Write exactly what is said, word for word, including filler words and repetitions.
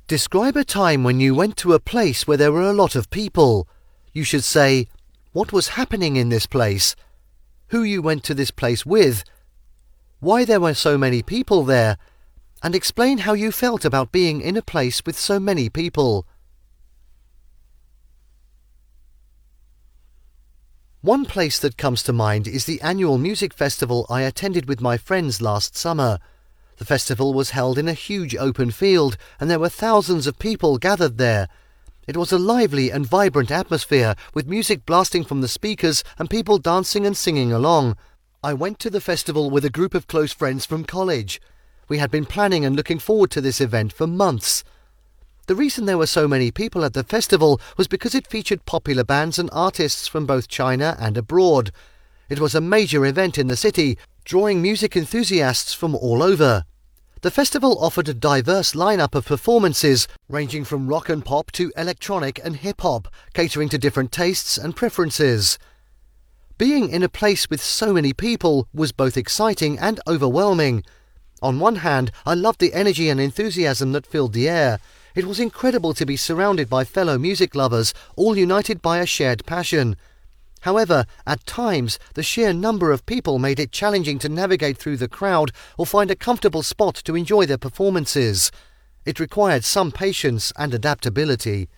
Describe a time when you went to a place where there were a lot of people. You should say, what was happening in this place? Who you went to this place with? Why there were so many people there? And explain how you felt about being in a place with so many people. One place that comes to mind is the annual music festival I attended with my friends last summer. The festival was held in a huge open field, and there were thousands of people gathered there. It was a lively and vibrant atmosphere, with music blasting from the speakers and people dancing and singing along. I went to the festival with a group of close friends from college. We had been planning and looking forward to this event for months. The reason there were so many people at the festival was because it featured popular bands and artists from both China and abroad. It was a major event in the city, drawing music enthusiasts from all over. The festival offered a diverse lineup of performances, ranging from rock and pop to electronic and hip-hop, catering to different tastes and preferences. Being in a place with so many people was both exciting and overwhelming. On one hand, I loved the energy and enthusiasm that filled the air. It was incredible to be surrounded by fellow music lovers, all united by a shared passion. However, at times, the sheer number of people made it challenging to navigate through the crowd or find a comfortable spot to enjoy their performances. It required some patience and adaptability.